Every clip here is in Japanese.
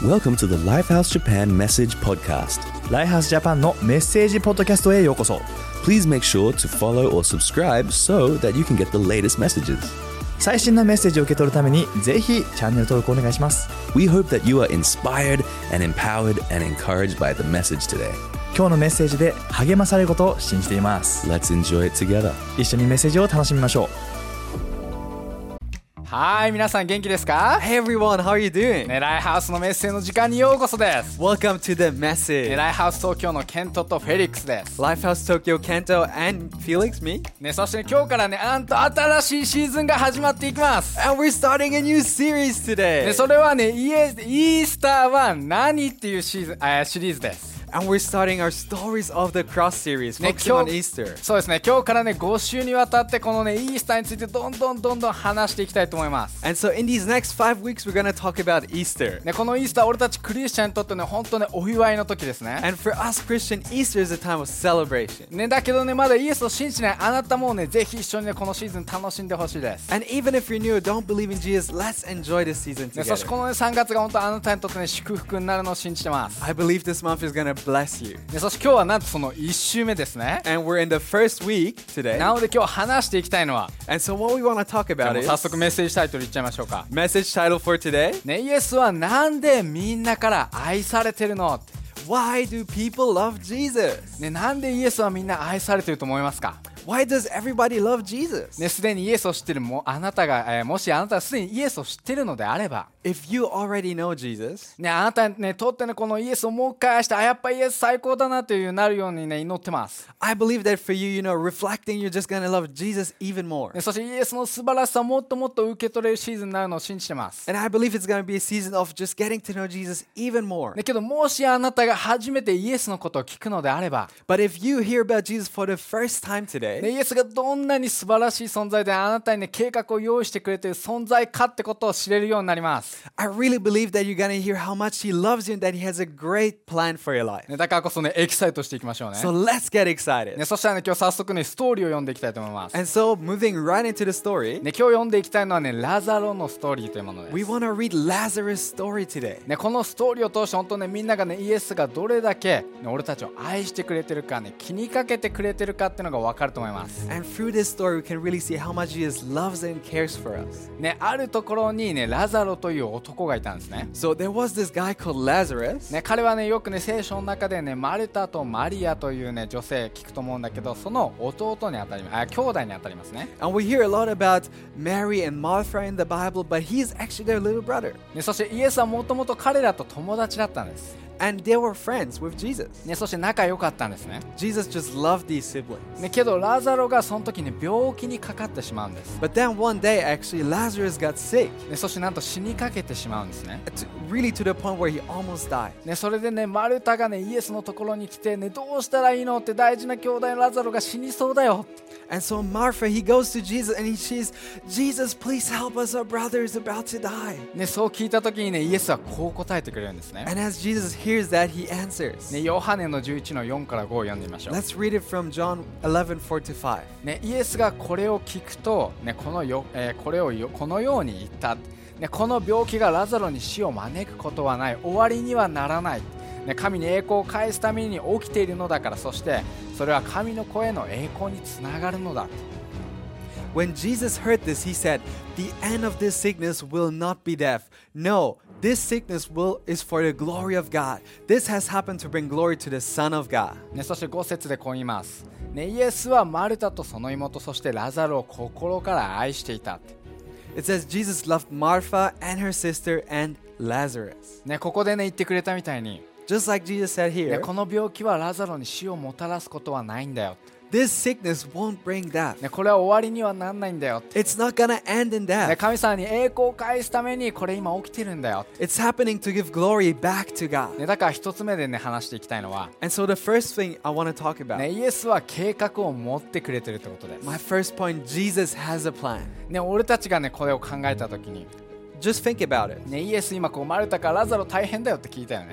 Welcome to the Lifehouse Japan Message Podcast. ライハースジャパンのメッセージポッドキャストへようこそ。 Please make sure to follow or subscribe so that you can get the latest messages. 最新のメッセージを受け取るためにぜひチャンネル登録お願いします。 We hope that you are inspired and empowered and encouraged by the message today. 今日のメッセージで励まされることを信じています。 Let's enjoy it together. 一緒にメッセージを楽しみましょう。 はい、皆さん元気ですか？ Hey everyone, how are you doing? ライハウスのメッセージの時間にようこそです。 Welcome to the message. ライハウス東京のケントとフェリックスです。 Lifehouse Tokyo, Kento, and Felix, me. そして今日からなんと新しいシーズンが始まっていきます。 And we're starting a new series today. それはイースターは何っていうシリーズです。 And we're starting our Stories of the Cross series, focusing on Easter. そうですね、今日から5週にわたってこのイースターについてどんどん話していきたいと思います。 And so in these next 5 weeks, we're going to talk about Easter. このイースター、俺たちクリスチャンにとって本当お祝いの時ですね。 And for us Christian, Easter is a time of celebration. だけどまだイエスを信じないあなたもぜひ一緒にこのシーズン楽しんでほしいです。 And even if you're new or don't believe in Jesus, let's enjoy this season そして together. この3月が本当あなたにとって祝福になるのを信じてます。 I believe this month is going to bless you. そして今日はなんとその1週目ですね。 And we're in the first week today. なので今日話していきたいのは、 And so what we want to talk about is 早速メッセージタイトルいっちゃいましょうか。 message title for today. イエスはなんでみんなから愛されてるの？ Why do people love Jesus? なんでイエスはみんな愛されてると思いますか？ Why does everybody love Jesus? すでにイエスを知ってるあなたが、もしあなたがすでにイエスを知ってるのであれば、 If you already know Jesus, あなたにとってこのイエスをもう一回愛して、やっぱイエス最高だなというなるように祈ってます。 I believe that for you, reflecting, you're just gonna love Jesus even more. そしてイエスの素晴らしさをもっともっと受け取れるシーズンになるのを信じてます。 And I believe it's gonna be a season of just getting to know Jesus even more. けどもしあなたが初めてイエスのことを聞くのであれば、 But if you hear about Jesus for the first time today, イエスがどんなに素晴らしい存在であなたに計画を用意してくれている存在かってことを知れるようになります。 I really believe that you're gonna hear how much He loves you and that He has a great plan for your life. だからこそエキサイトしていきましょうね。 So let's get excited. そしたら今日早速ストーリーを読んでいきたいと思います。 And so moving right into the story, 今日読んでいきたいのはラザロのストーリーというものです。 we wanna read Lazarus' story today. このストーリーを通して本当みんながイエスがどれだけ俺たちを愛してくれてるか気にかけてくれてるかっていうのが分かると思います。 And through this story, we can really see how much Jesus loves and cares for us. あるところにラザロという男がいたんですね。 So there was this guy called Lazarus. 彼はよく聖書の中でマルタとマリアという女性聞くと思うんだけど、その弟にあたり兄弟にあたりますね。 And we hear a lot about Mary and Martha in the Bible, but he's actually their little brother. そしてイエスはもともと彼らと友達だったんです。 And they were friends with Jesus. そして仲良かったんですね。 Jesus just loved these siblings. けどラザロがその時に病気にかかってしまうんです。 But then one day, actually, Lazarus got sick. そしてなんと死にかけてしまうんですね。 Really to the point where he almost died. それでマルタがイエスのところに来てどうしたらいいのって大事な兄弟のラザロが死にそうだよ。 And so Martha, he goes to Jesus and he says, Jesus, please help us, our brother is about to die. そう聞いた時にイエスはこう答えてくれるんですね。 And as Jesus hears that, he answers. ヨハネの11の4から5を読んでみましょう。 Let's read it from John 11:4-5. イエスがこれを聞くと、このように言った。この病気がラザロに死を招くことはない、終わりにはならない。神に栄光を返すために起きているのだから、そしてそれは神の声の栄光につながるのだ。 When Jesus heard this, he said, the end of this sickness will not be death. No, this sickness is for the glory of God. This has happened to bring glory to the Son of God. そして5節でこう言います。イエスはマルタとその妹、そしてラザロを心から愛していた。 It says Jesus loved Martha and her sister and Lazarus. ここで言ってくれたみたいに、 Just like Jesus said here, この病気はラザロに死をもたらすことはないんだよ。 this sickness won't bring death. これは終わりにはなんないんだよ。 It's not gonna end in death. 神様に栄光を返すためにこれ今起きてるんだよ。 It's happening to give glory back to God. だから一つ目で話していきたいのは、 And so the first thing I want to talk about, イエスは計画を持ってくれてるってことです。 my first point, Jesus has a plan. 俺たちがこれを考えたときに、 Just think about it. イエス今マルタからラザロ大変だよって聞いたよね。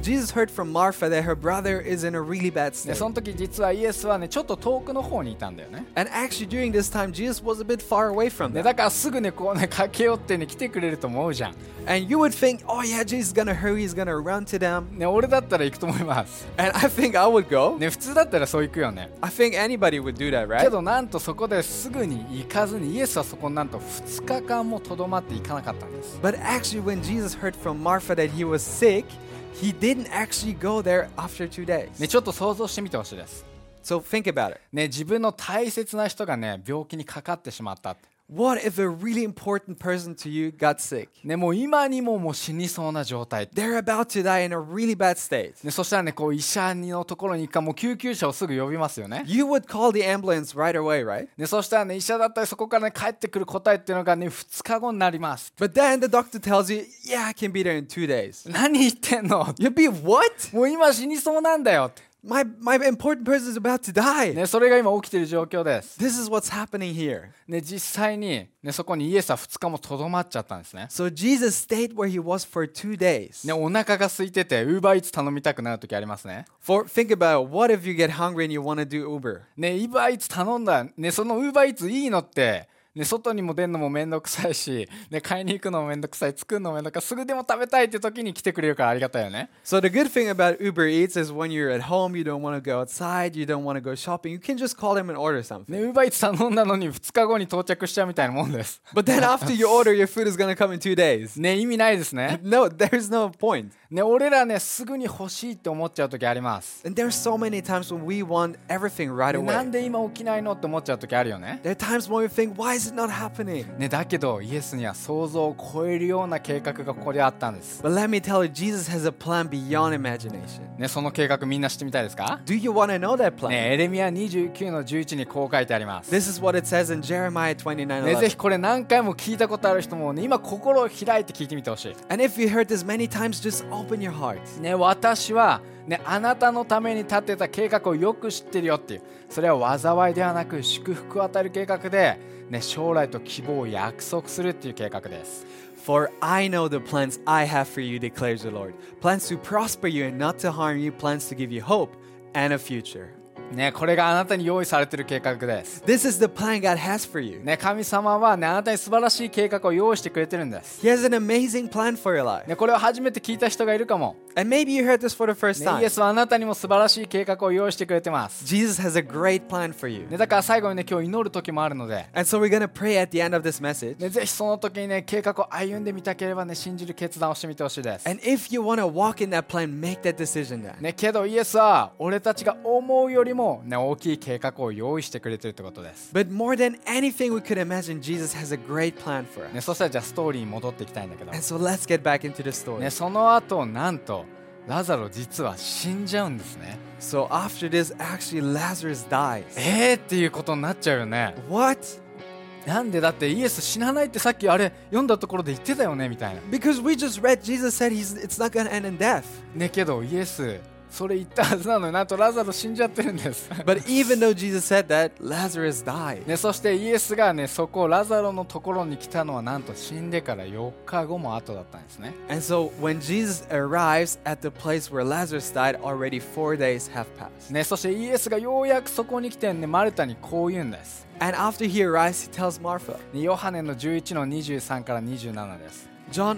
Jesus heard from Martha that her brother is in a really bad で state. その時実はイエスはねちょっと遠くの方にいたんだよね。 And actually, during this time, Jesus was a bit far away from で them. だからすぐねこうね駆け寄ってね来てくれると思うじゃん。 And you would think, oh yeah, Jesus is gonna hurry, he's gonna run to them. ね俺だったら行くと思います。 And I think I would go. ね普通だったらそう行くよね。 I think anybody would do that, け right? どなんとそこですぐに行かずにイエスはそこになんと2日間もとどまっていかなかったんです。 But actually, when Jesus heard from Martha that he was sick, he didn't actually go there after 2 days. ねちょっと想像してみてほしいです。 So think about it. ね自分の大切な人がね病気にかかってしまったって。 What if a really important person to you got sick? ねもう今にももう死にそうな状態。 They're about to die in a really bad state. ねそしたらねこう医者のところに行くかもう救急車をすぐ呼びますよね。 You would call the ambulance right away, right? ねそしたらね医者だったらそこからね帰ってくる答えっていうのがね2日後になります。 But then the doctor tells you, yeah, I can be there in 2 days. 何言ってんの？ You'd be, what? もう今死にそうなんだよって。 My important person is about to die. ねそれが今起きている状況です。 This is what's happening here. ね実際にねそこにイエスは2日もとどまっちゃったんですね。 So Jesus stayed where he was for 2 days. ねお腹が空いてて Uber Eats 頼みたくなる時ありますね。 Think about it. What if you get hungry and you want to do Uber? ね Uber Eats 頼んだねその Uber Eats いいのってね、外にも出るのもめんどくさいし、ね、買いに行くのもめんどくさい、作るのもめんどくさい、すぐでも食べたいって時に来てくれるからありがたいよね。 So the good thing about Uber Eats is when you're at home, you don't want to go outside, you don't want to go shopping, you can just call them and order something. ね、Uber Eats 頼んだのに2日後に到着しちゃうみたいなもんです。 But then after you order, your food is going to come in 2 days. ね、意味ないですね。 No, there's no point. ね、俺らね、すぐに欲しいって思っちゃう時あります。 And there's so many times when we want everything right ね、なん away. で今起きないのって思っちゃう時あるよね。 There are times when we think, why is it not happening? ね、だけどイエスには想像を超えるような計画がここであったんです。 But let me tell you, Jesus has a plan beyond imagination. ね、その計画みんな知ってみたいですか？ Do you want to know that plan? ね、エレミヤ29の11にこう書いてあります。 This is what it says in Jeremiah 29:11. ね、ぜひこれ何回も聞いたことある人もね、今心を開いて聞いてみてほしい。 And if you heard this many times, just open your heart. ね、私は、ね、あなたのために立てた計画をよく知ってるよっていう、それは災いではなく祝福を与える計画で、ね、将来と希望を約束するっていう計画です。 For I know the plans I have for you, declares the Lord. Plans to prosper you and not to harm you, plans to give you hope and a future. ね、これがあなたに用意されている計画です。 This is the plan God has for you. ね、神様は、ね、あなたに素晴らしい計画を用意してくれてるんです。 He has an amazing plan for your life. ね、これを初めて聞いた人がいるかも。 And maybe you heard this for the first ね、 time. イエスはあなたにも素晴らしい計画を用意してくれてます。 Jesus has a great plan for you. ね、だから最後にね、今日祈る時もあるので、 And so we're going to pray at the end of this message. ね、ぜひその時にね、計画を歩んでみたければね、信じる決断をしてみてほしいです。 And if you want to walk in that plan, make that decision now. ね、けどイエスは俺たちが思うよりも、ね、大きい計画を用意してくれてるってことです。 But more than anything we could imagine, Jesus has a great plan for us. ね、そしたらじゃあストーリーに戻っていきたいんだけど、 And so let's get back into the story. ね、その後なんとラザロ実は死んじゃうんですね。 So after this, actually Lazarus dies. っていうことになっちゃうよね。 What? なんでだってイエス死なないってさっきあれ読んだところで言ってたよねみたいな。 Because we just read Jesus said it's not going to end in death. ね、けどイエスそれ言ったはずなのになんとラザロ死んじゃってるんです。 But even though Jesus said that, Lazarus died. ね、そしてイエスがねそこラザロのところに来たのはなんと死んでから4日後も後だったんですね。 And so when Jesus arrives at the place where Lazarus died, already 4 days have passed. ね、そしてイエスがようやくそこに来てねマルタにこう言うんです。 And after he arrives, he tells Martha. ね、ヨハネの11の23から27です。 John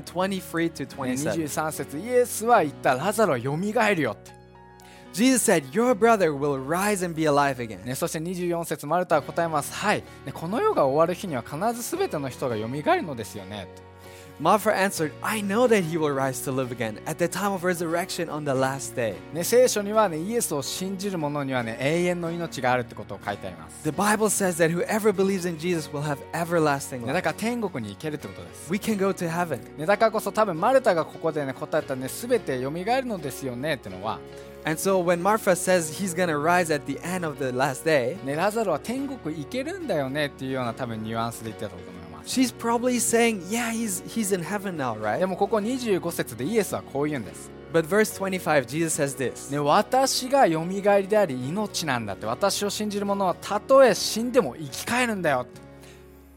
11:23 to ね、 27. 23節イエスは言ったラザロはよみがえるよって。 Jesus said, your brother will rise and be alive again. ね、そして24節マルタは答えます。はい、ね、この世が終わる日には必ず全ての人がよみがえるのですよね。 Martha answered, I know that he will rise to live again at the time of resurrection on the last day. ね、聖書にはねイエスを信じる者にはね永遠の命があるってことを書いてあります。 The Bible says that whoever believes in Jesus will have everlasting ね、 life. だから天国に行けるってことです。 We can go to heaven. ね、だからこそ多分マルタがここでね答えたね全てよみがえるのですよねってのは、 And so when Martha says he's going to rise at the end of the last day, ね、ラザロは天国行けるんだよねっていうような多分ニュアンスで言ってたと思います。 she's probably saying, yeah, he's in heaven now, で right? もここ25節でイエスはこう言うんです。 But verse 25, Jesus says this. ね、私がよみがえりであり命なんだって。私を信じる者はたとえ死んでも生き返るんだよって。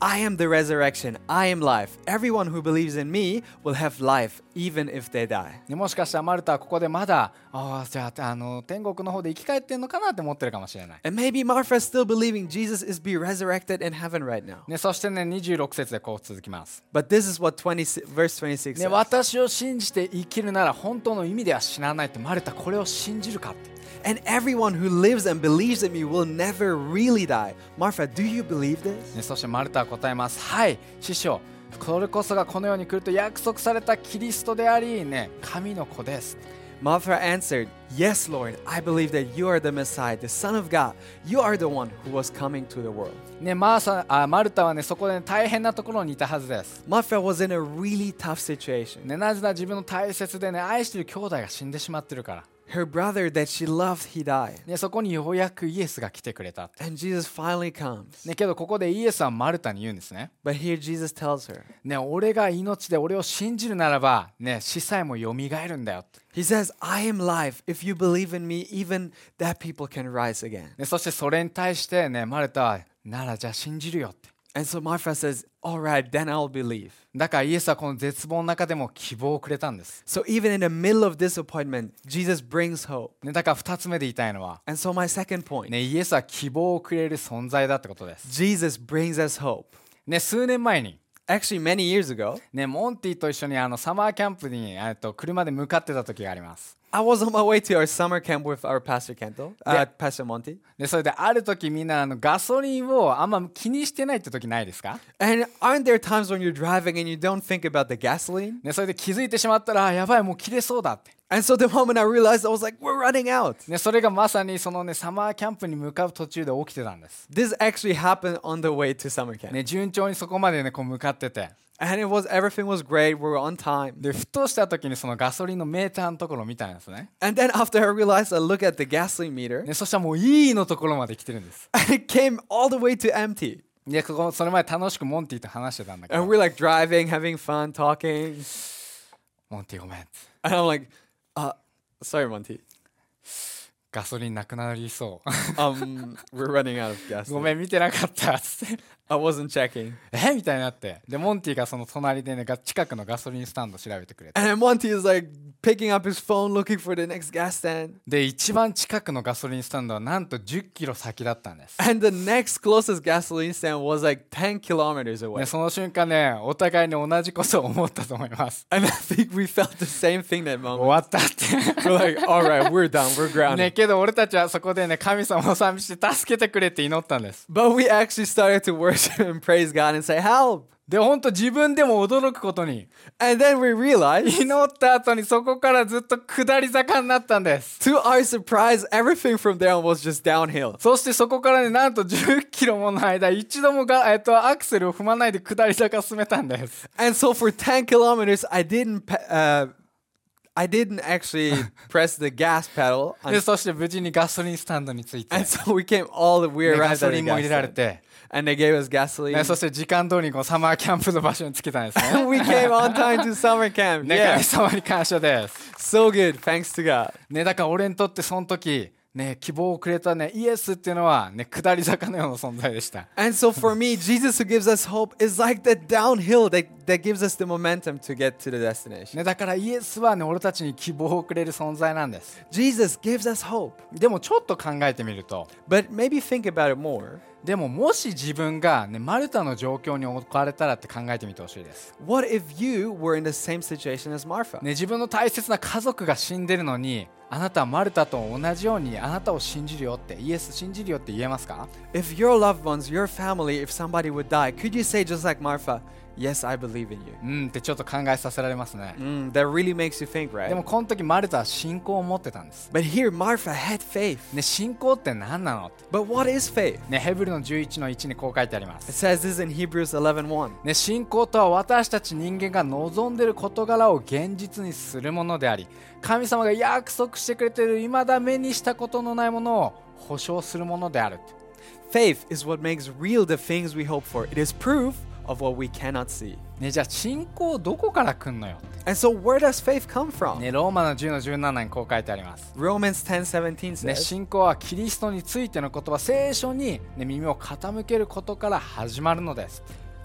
I am the resurrection, I am life. Everyone who believes in me will have life, even if they die. ね、もしかしたらマルタはここでまだじゃあ、天国の方で生き返ってんのかなって思ってるかもしれない。 And maybe Martha is still believing Jesus is be resurrected in heaven right now. ね、そしてね、26節でこう続きます。 But this is what verse 26 ね、 says. 私を信じて生きるなら本当の意味では死なないって、マルタこれを信じるかって。 And everyone who lives and believes in me will never really die. Martha, do you believe this? ね、そしてマルタは答えます。はい、師匠。これこそがこの世に来ると約束されたキリストであり、ね、神の子です。 Martha answered, Yes, Lord, I believe that you are the Messiah, the Son of God. You are the one who was coming to the world. ね、マルタはね、そこで、ね、大変なところにいたはずです。 Martha was in a really tough situation. ね、なぜなら自分の大切でね、愛している兄弟が死んでしまってるから。 Her brother that she loved, he died. ね、そこにようやくイエスが来てくれた。 And Jesus finally comes. ね、けどここでイエスはマルタに言うんですね。 But here Jesus tells her, ね、俺が命で俺を信じるならば、ね、死さえもよみがえるんだよ。 He says, I am life. If you believe in me, even that people can rise again. ね、そしてそれに対して、ね、マルタはならじゃあ信じるよって。 And so Martha says, All right, then I'll believe. だからイエスはこの絶望の中でも希望をくれたんです。 So even in the middle of disappointment, Jesus brings hope. ね、だから2つ目で言いたいのは、 And so my second point, ね、イエスは希望をくれる存在だってことです。 Jesus brings us hope. ね、数年前に、 Actually, many years ago, ね、モンティと一緒にサマーキャンプに車で向かってた時があります。 I was on my way to our summer camp with our Pastor Kento, Pastor Monty. でそれである時みんなガソリンをあんま気にしてないって時ないですか？ And aren't there times when you're driving and you don't think about the gasoline? ね、それで気づいてしまったらやばいもう切れそうだって。 And so the moment I realized, I was like, we're running out. ね、それがまさにそのねサマーキャンプに向かう途中で起きてたんです。 This actually happened on the way to summer camp. ね、順調にそこまでねこう向かってて。 And everything was great. We were on time. でふとした時にそのガソリンのメーターのところを見たんですね。 And then after I realized, I looked at the gasoline meter. ね、そしたらもういいのところまで来てるんです。 And it came all the way to empty. でそれまで楽しくモンティと話してたんだけ And ど、 we're like driving, having fun, talking. モンティごめん。 And I'm like, sorry, Monty. ガソリンなくなりそう。 We're running out of ご gasoline. めん見てなかったっつって。 I wasn't checking. みたいになって。でモンティがその隣でね近くのガソリンスタンド調べてくれて。 And then Monty is like picking up his phone, looking for the next gas stand. で一番近くのガソリンスタンドはなんと10キロ先だったんです。 And the next closest gasoline stand was like 10 kilometers away. ね、その瞬間ねお互いに同じことを思ったと思います。 And I think we felt the same thing that 終 moment. わったって We're like, all right, we're done, we're ね、 grounded. けど俺たちはそこでね神様を賛美して助けてくれって祈ったんです。 But we actually started to worship and praise God and say, help. で本当自分でも驚くことに And then we realized, 祈った後にそこからずっと下り坂になったんです。 to our surprise, everything from there on was just downhill. そしてそこからねなんと10キロもの間一度もアクセルを踏まないで下り坂を進めたんです。 And so for 10 kilometers, I didn't actually press the gas pedal. でそして無事にガソリンスタンドに着いて、 And so we came all the way ね、ガ around ソ at リ the ンも入 gas れられ stand. て、 And they gave us gasoline. ね、そして時間通りにこうサマーキャンプの場所に着けたんですね。 And we came on time to summer camp. ね、 Yeah. 神様に感謝です。 So good. Thanks to God. ね、だから俺にとってその時ね希望をくれたねイエスっていうのはね下り坂のような存在でした。 And so for me, Jesus who gives us hope is like that downhill that gives us the momentum to get to the destination. ね、だからイエスはね俺たちに希望をくれる存在なんです。 Jesus gives us hope. でもちょっと考えてみると、 But maybe think about it more. でももし自分がねマルタの状況に置かれたらって考えてみてほしいです。 What if you were in the same situation as Martha? ね、自分の大切な家族が死んでるのにあなたはマルタと同じようにあなたを信じるよってイエス信じるよって言えますか？ If your loved ones, your family, if somebody would die, could you say just like Martha, yes, I believe in you? ってちょっと考えさせられますね。 That really makes you think, でも right? この時マルタは信仰を持ってたんです。 But here, Martha had faith. ね、信仰って何なの？ But what is faith? ね、ヘブルの11の1にこう書いてありま It す。 says this in Hebrews 11:1. ね、信仰とは私たち人間が望んでいる事柄を現実にするものであり、神様が約束してくれている未だ目にしたことのないものを保証するものである。 Faith is what makes real the things we hope for. It is proof of what we cannot see. ね、じゃあ信仰どこから来んのよ。 And so where does faith come from? ね、ローマの10の17にこう書いてあります。 Romans 10:17 ね、 says, 信仰はキリストについての言葉、聖書に、ね、耳を傾けることから始まるのです。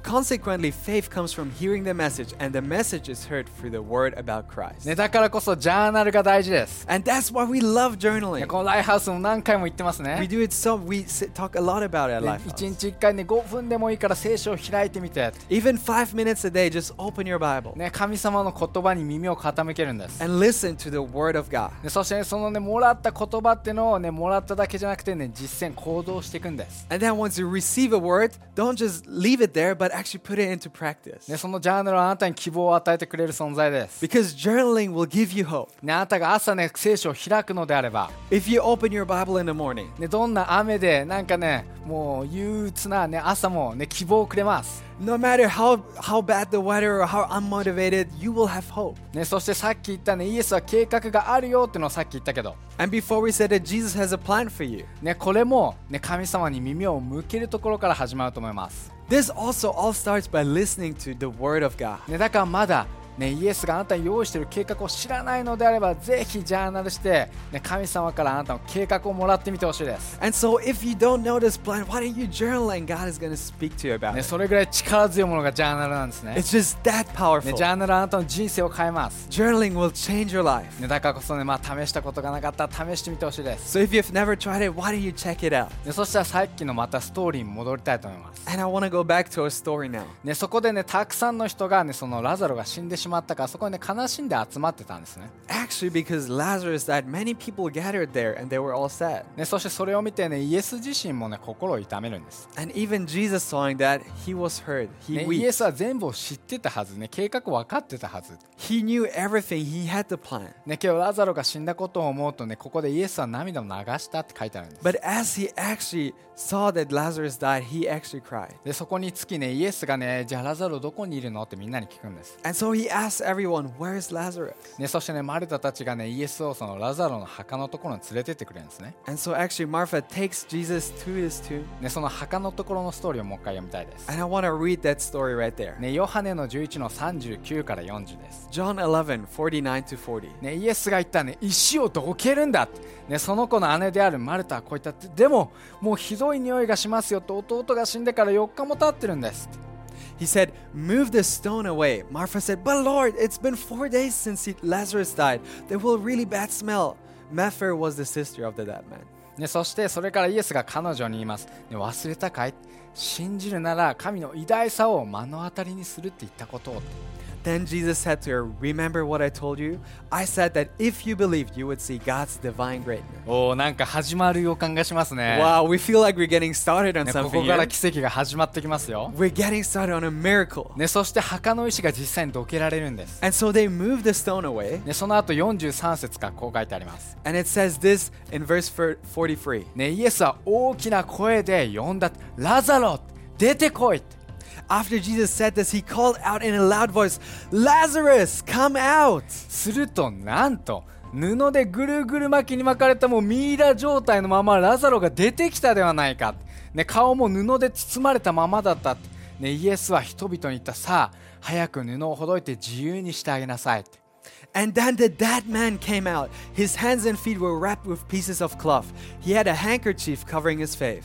consequently, faith comes from hearing the message, and the message is heard through the word about Christ. ね、だからこそジャーナルが大事です。 And that's why we love ね、 journaling. このライフハウスも何回も言ってます We ね。 do it so, talk a lot about it at ね、 Lifehouse. 1日1回ね、5分でもいいから聖書を開いてみて、 Even 5 minutes a day, just open your Bible ね、神様の言葉に耳を傾けるんです。 and listen to the word of God. でそして、ね、そのね、もらった言葉っていうのをね、もらっただけじゃなくてね、実践行動していくんです。 And then once you receive a word, don't just leave it there, but actually put it into practice. ね、そのジャーナルはあなたに希望を与えてくれる存在です。 Because journaling will give you hope. ね、あなたが朝ね、聖書を開くのであれば、 If you open your Bible in the morning, ね、どんな雨でなんかね、もう憂鬱な、ね、朝も、ね、希望をくれます。 no matter how bad the weather or how unmotivated, you will have hope. ね、そしてさっき言ったね、イエスは計画があるよっていうのをさっき言ったけど、 And before we said that Jesus has a plan for you. ね、これも、ね、神様に耳を向けるところから始まると思います。 This also all starts by listening to the word of God. ね、だからまだ、ね、イエスがあなたに用意している計画を知らないのであれば、ぜひジャーナルして、ね、神様からあなたの計画をもらってみてほしいです。 And so if you don't know this plan, why don't you journal and God is going to speak to you about ね、 it? それぐらい力強いものがジャーナルなんですね。 It's just that ね、 powerful. ジャーナルはあなたの人生を変えます。 Journaling will change your life. ね、だからこそね、まあ、試したことがなかったら試してみてほしいです。 So if you've never tried it, why don't you check it out? ね、そしたらさっきのまたストーリーに戻りたいと思います。 And I want to go back to our story now. ね、そこでね、たくさんの人がね、そのラザロが死んでしまったから、そこにね、悲しんで集まってたんですね。 Actually, because Lazarus died, many people gathered there and they were all sad. ね、そしてそれを見てね、イエス自身もね、心を痛めるんです。 And even Jesus saw that, he was hurt. ね、 He イエ wept. スは全部を知ってたはずね、計画分かってたはず。 He knew everything. He had the plan. ね、今日ラザロが死んだことを思うとね、ここでイエスは涙を流したって書いてあるんです。 But as he actually saw that Lazarus died, he actually cried. で、そこにつきね、イエスがね、じゃあラザロどこにいるのってみんなに聞くんです。 And so he asked everyone, "Where's Lazarus?" ね、そしてね、マルタたちがね、イエスをそのラザロの墓のところに連れてってくれるんですね。 And so actually Martha takes Jesus to his tomb. ね、その墓のところのストーリーをもう一回読みたいです。 And I want to read that story right there. ね、ヨハネの11の39から40です。 John 11, 49 to 40. ね、イエスが言ったね、石をどけるんだって、ね、その子の姉であるマルタはこう言ったって、でももうひどい匂いがしますよと、弟が死んでから4日も経ってるんです。 He said, "Move the stone away." Martha said, "But Lord, it's been 4 days since Lazarus died. There will really bad smell." Martha was the sister of the dead man. ね、そしてそれからイエスが彼女に言います。ね、忘れたかい？信じるなら神の偉大さを目の当たりにするって言ったことを。 Then Jesus said to her, "Remember what I told you? I said that if you believed, you would see God's divine greatness." おー、なんか始まる予感がしますね。 Wow, we feel like we're getting started on ね、こ something こから here. 奇跡が始まってきますよ。 We're getting started on a miracle. ね、そして墓の石が実際にどけられるんです。 And so they moved the stone away. ね、その後43節からこう書いてあります。 And it says this in verse 43. ね、イエスは大きな声で呼んだ。ラザロ、出てこい。 After Jesus said this, he called out in a loud voice, "Lazarus, come out!" するとなんと布でぐるぐる巻きに巻かれたもうミイラ状態のままラザロが出てきたではないか、ね、顔も布で包まれたままだった、ね、イエスは人々に言った。さあ早く布をほどいて自由にしてあげなさい。 And then the dead man came out. His hands and feet were wrapped with pieces of cloth. He had a handkerchief covering his face.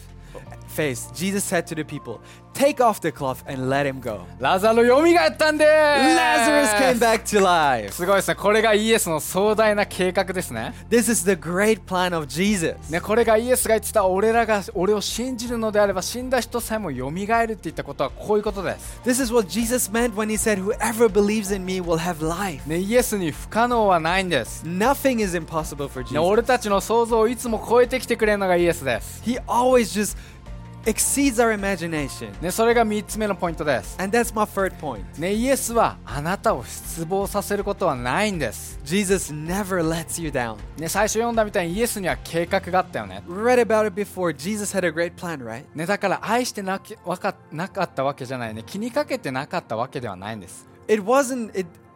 Jesus said to the people, "Take off the cloth and let him go." ラザロよみがえったんでー Lazarus came す。 back to life. すごいですね。これがイエスの壮大な計画ですね。 This is the great plan of Jesus. ね、これがイエスが言ってた、俺を信じるのであれば死んだ人さえもよみがえるって言ったことはこういうことです。 This is what Jesus meant when he said, "Whoever believes in me will have life." ね、イエスに不可能はないんです。 Nothing is impossible for ね、 Jesus. 俺たちの想像をいつも超えてきてくれるのがイエスです。 He always just exceeds our imagination. ね、それが3つ目のポイントです。 And that's my third point. ね、イエスはあなたを失望させることはないんです。 Jesus never lets you down. ね、最初読んだみたいにイエスには計画があったよね。 We read about it before. Jesus had a great plan, right? ね、だから愛してなかったわけじゃないね。気にかけてなかったわけではないんです。 It wasn't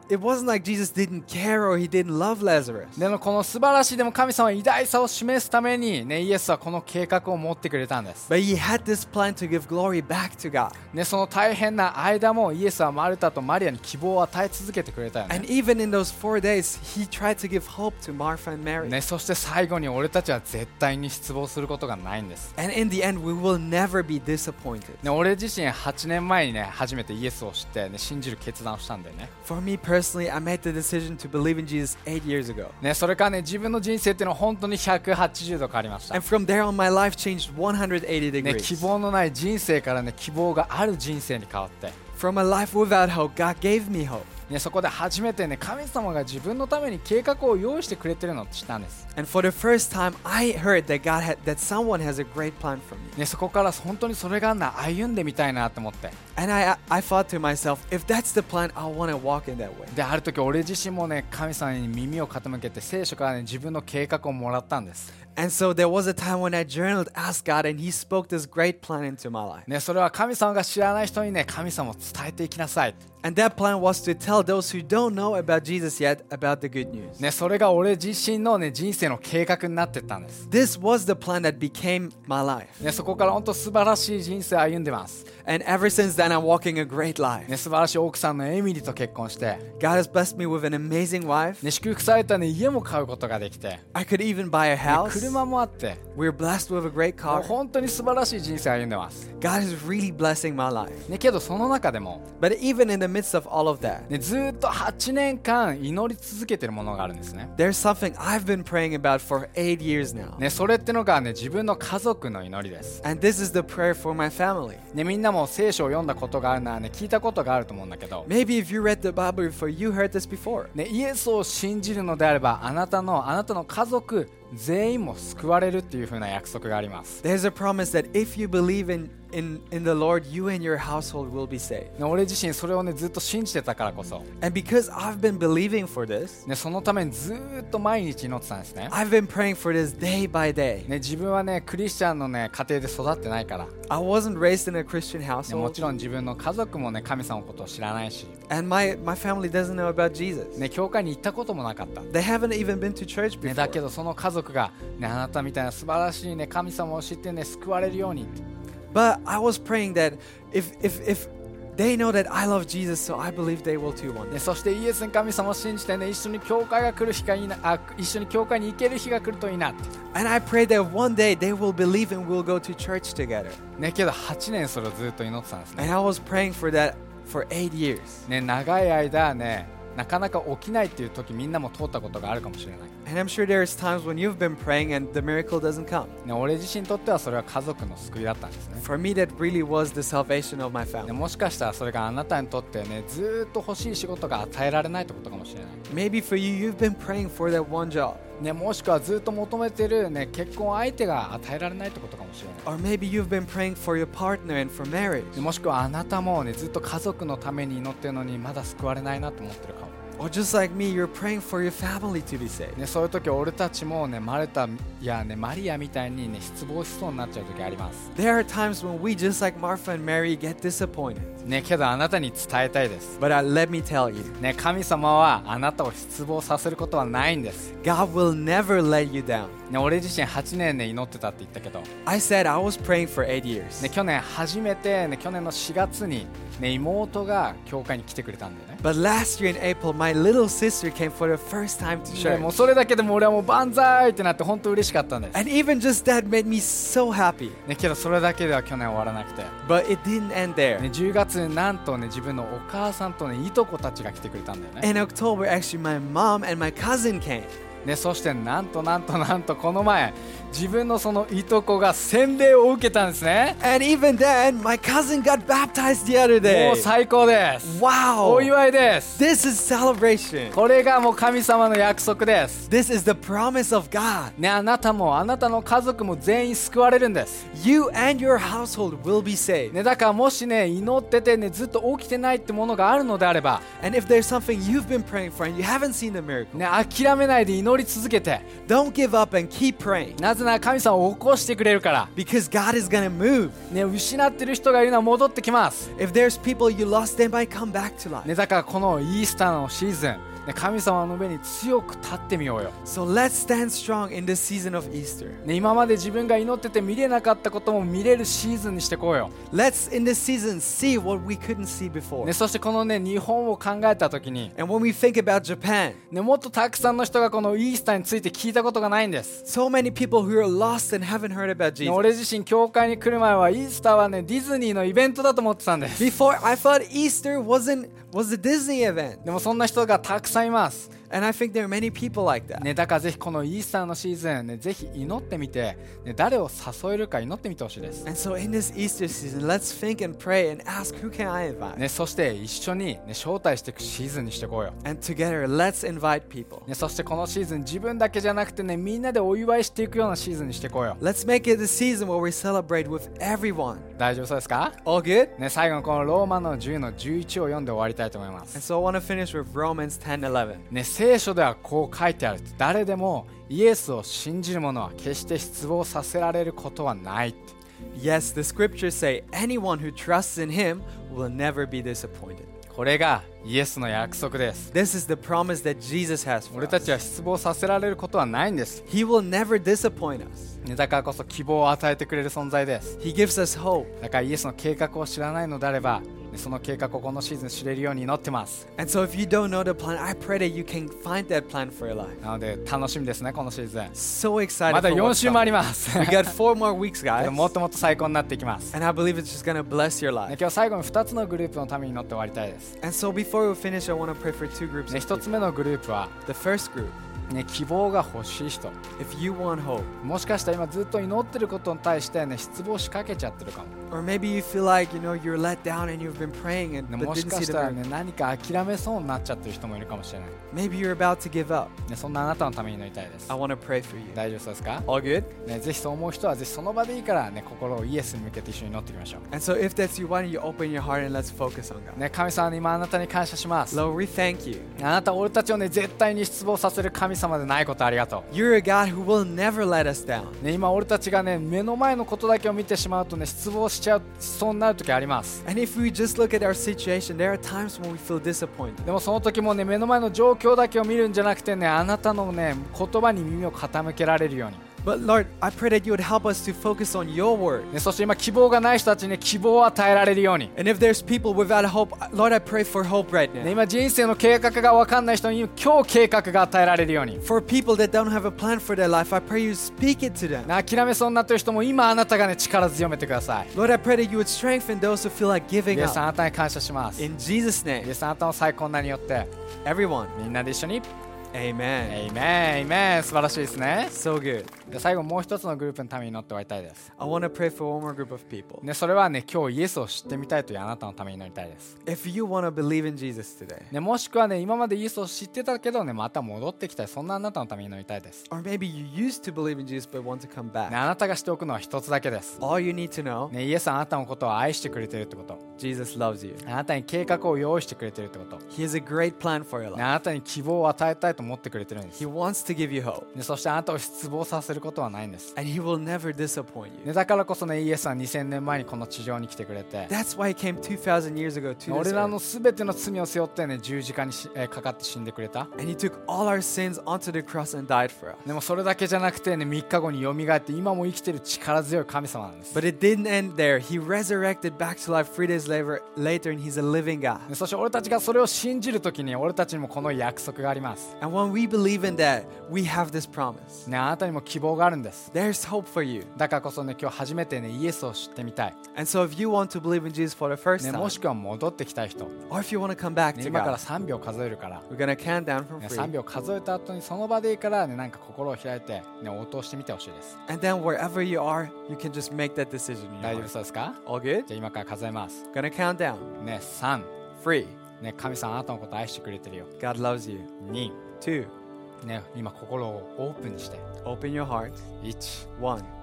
it wasn't like Jesus didn't care or he didn't love Lazarus. でもこの素晴らしいでも神様は偉大さを示すために、ね、イエスはこの計画を持ってくれたんです。 But he had this plan to give glory back to God. ね、その大変な間もイエスはマルタとマリアに希望を与え続けてくれたよね。 And even in those 4 days, he tried to give hope to Martha and Mary. ね、そして最後に俺たちは絶対に失望することがないんです。 And in the end, we will never be disappointed. ね、俺自身8年前にね初めてイエスを知って、ね、信じる決断をしたんだよね。 For me personally, I made the decision to believe in Jesus 8 years ago. ね、それからね自分の人生っていうのは本当に180度変わりました。 And from there on, my life changed 180 ね、希 degrees. 望のない人生からね希望がある人生に変わって、 From a life without hope, God gave me hope. ね、そこで初めてね神様が自分のために計画を用意してくれてるのを知ったんです。 And for the first time, I heard that someone has a great plan for me. ね、そこから本当にそれが歩んでみたいなと思って、 And I thought to myself, if that's the plan, I want to walk in that way. である時俺自身もね神様に耳を傾けて聖書からね自分の計画をもらったんです。 And so there was a time when I journaled, asked God, and He spoke this great plan into my life. ね、それは神様が知らない人にね神様を伝えていきなさい。 And that plan was to tell those who don't know about Jesus yet about the good news. ね、それが俺自身のね人生の計画になってったんです。 This was the plan that became my life. ね、そこから本当素晴らしい人生を歩んでます。 And ever since then, I'm walking a great life. ね、素晴らしい奥さんのエミリーと結婚して、 God has blessed me with an amazing wife. ね、祝福された、ね、家も買うことができて、ね、 I could even buy a house. 車もあって、 We're blessed with a great もう car. 本当に素晴らしい人生を歩んでます。 God is really blessing my life. ね、けどその中でも、 But even in the midst of all of that, ね、ずっと8年間祈り続けてるものがあるんですね。 there's something I've been praying about for 8 years now. ね、それってのが、ね、自分の家族の祈りです。 And this is the prayer for my family. ね、みんなも聖書を読んだことがあるなら、ね、聞いたことがあると思うんだけど、 Maybe if you read the Bible before, you heard this before. ね、イエスを信じるのであればあなたの家族全員も救われるっていう風な約束があります。 There's a promise that if you believe in the Lord, you and your household will be saved. ね、俺自身それをねずっと信じてたからこそ、 And because I've been believing for this, ね、そのためにずっと毎日祈ってたんですね。 I've been praying for this day by day. ね、自分はねクリスチャンのね家庭で育ってないから、ね、 I wasn't raised in a Christian も household, ちろん自分の家族もね神様のことを知らないし、 and my family doesn't know about Jesus. ね、教会に行ったこともなかった。 They haven't even been to church ね、だけ before. どその家族が、ね、あなたみたいな素晴らしい、ね、神様を知って、ね、救われるように、 But I was praying that if they know that I love Jesus, so I believe they will too one day. ね、そしてイエスに神様を信じて、ね、一緒に教会が来る日がいいな、一緒に教会に行ける日が来るといいなって、 And I pray that one day they will believe and we'll go to church together. ね、けど8年それをずっと祈ってたんですね。 And I was praying for that for 8 years. ね、長い間ねなかなか起きないっていう時みんなも通ったことがあるかもしれない。 And I'm sure there's times when you've been praying and the miracle doesn't come. ね、俺自身にとってはそれは家族の救いだったんですね。 For me, that really was the salvation of my ね、 family. もしかしたらそれがあなたにとってねずーっと欲しい仕事が与えられないってことかもしれない。 Maybe for you, you've been praying for that one job. ね、もしくはずっと求めてる、ね、結婚相手が与えられないってことかもしれない。 Or maybe you've been praying for your partner and for marriage. でもしくはあなたも、ね、ずっと家族のために祈ってるのにまだ救われないなと思ってるかも。 Or just like me, you're praying for your family to be saved. ね、そういう時俺たちも、ね、マルタや、ね、マリアみたいに、ね、失望しそうになっちゃう時あります。 There are times when we, just like Martha and Mary, get disappointed. ね、けどあなたに伝えたいです。 But let me tell you, ね、神様はあなたを失望させることはないんです。 God will never let you down. ね、俺自身8年、ね、祈ってたって言ったけど、 I said I was praying for 8 years. ね、去年初めて、ね、去年の4月に、ね、妹が教会に来てくれたんだよね。 But last year in April, my little sister came for the first time to ね、もう church. それだけでも俺はもう万歳ってなって本当嬉しかったんです。 And even just that made me so happy. ね、けどそれだけでは去年終わらなくて、 But it didn't end there. ね、10月になんと、ね、自分のお母さんと、ね、いとこたちが来てくれたんだよね。 In October, actually, my mom and my cousin came. ね、そしてなんとこの前自分のそのいとこが洗礼を受けたんですね。 And even then, my cousin got baptized the other も day. う最高です。 Wow! お祝いです。 This is celebration. これがもう神様の約束です。 This is the promise of God. ね、あなたもあなたの家族も全員救われるんです。 You and your household will be saved. ね、だからもしね祈っててねずっと起きてないってものがあるのであれば、 And if there's something you've been praying for and you haven't seen the miracle, ね、諦めないで祈祈り続けて、 Don't give up and keep praying. なぜなら神様を起こしてくれるから、 Because God is going to move. ね、失ってる人がいるのは戻ってきます、 If there's people you lost, they might come back to life. ね、だからこのイースターのシーズン、ね、神様の上に強く立ってみようよ、 So let's stand strong in this season of Easter. ね、今まで自分が祈ってて見れなかったことも見れるシーズンにしてこうよ、 Let's in this season see what we couldn't see before. ね、そしてこのね日本を考えた時に、 And when we think about Japan, ね、もっとたくさんの人がこのイースターについて聞いたことがないんです、 so many people who are lost and haven't heard about ね、 Jesus. 俺自身教会に来る前はイースターはねディズニーのイベントだと思ってたんです。 Before, I thought Easter was a Disney event. でもそんな人がたくさんいます、 And I think there are many people like that. ね、だからぜひこのイースターのシーズン、ね、ぜひ祈ってみて、ね、誰を誘えるか祈ってみてほしいです、 And so in this Easter season, let's think and pray and ask, who can I invite? ね、そして一緒に、ね、招待していくシーズンにしていこうよ、 And together, let's invite people. ね、そしてこのシーズン自分だけじゃなくてねみんなでお祝いしていくようなシーズンにしていこうよ。 Let's make it the season where we celebrate with everyone. 大丈夫そうですか、 All good? ね、最後のこのローマの10の11を読んで終わりたいと思いま And す、 so I want to finish with Romans 10:11. ね、聖書ではこう書いてある、誰でもイエスを信じる者は決して失望させられることはないって。 Yes, the scriptures say anyone who trusts in him will never be disappointed. これがイエスの約束です。 This is the promise that Jesus has for 俺た us. ちは失望させられることはないんです、 He will never disappoint us. ね、だからこそ希望を与えてくれる存在です。 He gives us hope. だからイエスの計画を知らないのであれば、ね、その計画をこのシーズン知れるように祈ってます。 And so if you don't know the plan, I pray that you can find that plan for your life. なので楽しみですね、このシーズン。 So excited まだ for 4 what's 週もあり coming. ます。 We got 4 more weeks, guys. もっともっと最高になっていきます。 And I believe it's just going to bless your ね、 life. 今日最後に2つのグループのために祈って終わりたいです。 And so before we finish, I want to pray for 2 groups ね、 of 1つ people. 目のグループは、 The first group, ね、希望が欲しい人。 if you want hope, もしかしたら今ずっと祈ってることに対して、ね、失望しかけちゃってるかも。 or maybe you feel like, you're let down and you've been praying and ね、 but もし didn't か see し the たら、 miracle. ね、何か諦めそうになっちゃってる人もいるかもしれない。 Maybe you're about to give up. ね、そんなあなたのために祈りたいです I。want to pray for you. 大丈夫そうですか、 All good? ね、ぜひそう思う人はぜひその場でいいから、ね、心をイエスに向けて一緒に祈っていきましょ And so if that's you, why don't you open your heart and let's focus on う。 God. ね、神様に今あなたに感謝します。 Lord, we thank you. あなた俺たちを、ね、絶対に失望させる神様でないことありがと You're a God who will never let us down. う。ね、今俺たちが、ね、目の前のことだけを見てしまうと、ね、失望しそうになる時あります。 And if we just look at our situation, there are times when we feel disappointed. でもその時もね目の前の状況だけを見るんじゃなくてね、あなたのね言葉に耳を傾けられるように、 But Lord, I pray that you would help us to focus on your word. ね、そして今希望がない人たちに、ね、希望を与えられるように、 And if there's people without hope, Lord, I pray for hope right ね、 now. 今人生の計画が分かんない人に今日計画が与えられるように、 For people that don't have a plan for their life, I pray you speak it to them. ね、諦めそうになっている人も今あなたが、ね、力強めてください。 Lord, I pray that you would strengthen those who feel like イ giving エスあ up. なたに感謝します。イ In Jesus' エ name, スあなたの最高なによって everyone, みんなで一緒に amen. エイメンエイメン、素晴らしいですね。 So good. で最後もう一つのグループのために祈って終わりたいです。 I want to pray for one more group of people. ね、それはね今日イエスを知ってみたいというあなたのために祈りたいです。 If you want to believe in Jesus today, ね、もしくはね今までイエスを知ってたけどねまた戻ってきたい、そんなあなたのために祈りたいです。 or maybe you used to believe in Jesus but want to come ね、 back, あなたがしておくのは一つだけです。 all you need to know, ね、イエスはあなたのことを愛してくれてるってこと。 Jesus loves you. あなたに計画を用意してくれてるってこと。 He has a great plan for your ね、 life. あなたに希望を与えたいと思ってくれてるんです。 He wants to give you hope, ね、そしてあなたを失望させることはないんです。 and He will never disappoint you. ね、だからこそねイエスは2000年前にこの地上に来てくれて、 That's why He came 2,000 years ago to 俺 this らの earth. 全ての罪を背負ってね十字架にかかって死んでくれた。 And He took all our sins onto the cross and died for us. でもそれだけじゃなくてね3日後によみがえって今も生きてる力強い神様なんです。 But it didn't end there. He resurrected back to life 3 days later, and He's a living God. ね、そして俺たちがそれを信じるときに俺たちにもこの約束があります。 And when we believe in that, we have this promise. ね、あなたにも希望があるんです。 There's hope for you. だからこそね今日初めてねイエスを知ってみたい、 And so if you want to believe in Jesus for the first ね、 time, もしくは戻ってきたい人、ね、 or if you want to come back to 今から God, 3秒数えるから、 we're going to count down from ね、 3. 3秒数えた後にその場でいいからねなんか心を開いて、ね、応答してみてほしいです。 And then wherever you are, you can just make that decision in 大 your 丈夫 heart. そうですか？ All good? じゃあ今から数えます。 Gonna count down. ね、3、 3. ね、神様あなたのこと愛してくれてるよ。 God loves you. 2、 2. ね、今心をオープンにして。 Open your heart. 1、 1. ね、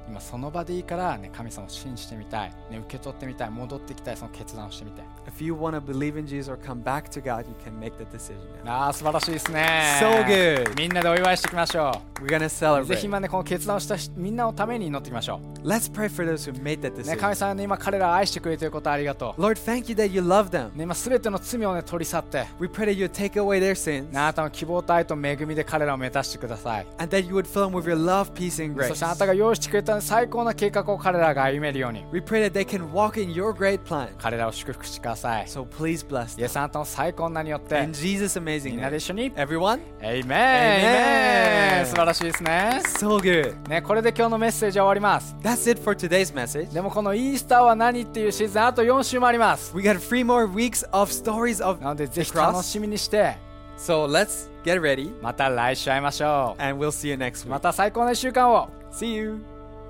今その場でいいから、ね、神様を信じてみたい、ね、受け取ってみたい、戻ってきたい、その決断をしてみたい。 If you want to believe in Jesus or come back to God, you can make the decision now. 素晴らしいですね。 So good. みんなでお祝いしていきましょ We're going to う。ぜひ celebrate. 今ねこの決断をしたみんなのために祈っていきましょ Let's pray for those who made that う、ね、 decision. 神様ね今彼らを愛してくれていることありがと Lord, thank you that you love them. う、ね、今すべての罪をね取り去って、 We pray that you would take away their sins ね、あなたの希望と愛と恵みで彼らを満たしてください。 and that you would fill them with your love, peace, and そ grace. してあなたが用意してくれた最高な計画を彼らが歩めるように、 We pray that they can walk in your great plan. 彼らを祝福してください。 So please bless イエ them. スあなたの最高な名によって In Jesus' み amazing んなで name. 一緒に Everyone? エイメン Amen 素晴らしいですね。 So good. ね、これで今日のメッセージは終わります。 That's it for today's message. でもこのイースターは何っていうシーズンあと4週もあります。 We got 3 more weeks of stories of なのでぜ the ひ楽 cross. しみにして So let's get ready また来週会いましょ and we'll see you next う。 week. また最高の1週間を。 See you.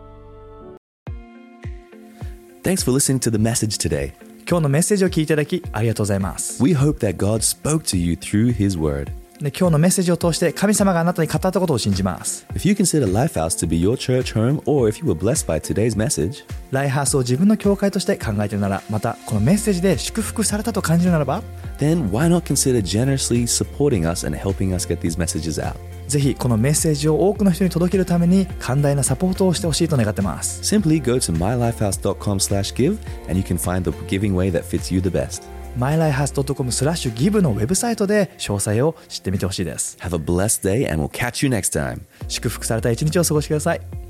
Thanks for listening to the message today. 今日のメッセージを聞いていただきありがとうございます。 We hope that God spoke to you through His Word. で今日のメッセージを通して神様があなたに語ったことを信じます。 If you consider Lifehouse to be your church home, or if you were blessed by today's message, ライハースを自分の教会として考えているなら、またこのメッセージで祝福されたと感じるならば、 then why not consider generously supporting us and helping us get these messages out? ぜひこのメッセージを多くの人に届けるために寛大なサポートをしてほしいと願ってます。 Simply go to mylifehouse.com/give and you can find the giving way that fits you the best. mylifehouse.com/give のウェブサイトで詳細を知ってみてほしいです。 Have a blessed day and we'll catch you next time. 祝福された一日を過ごしてください。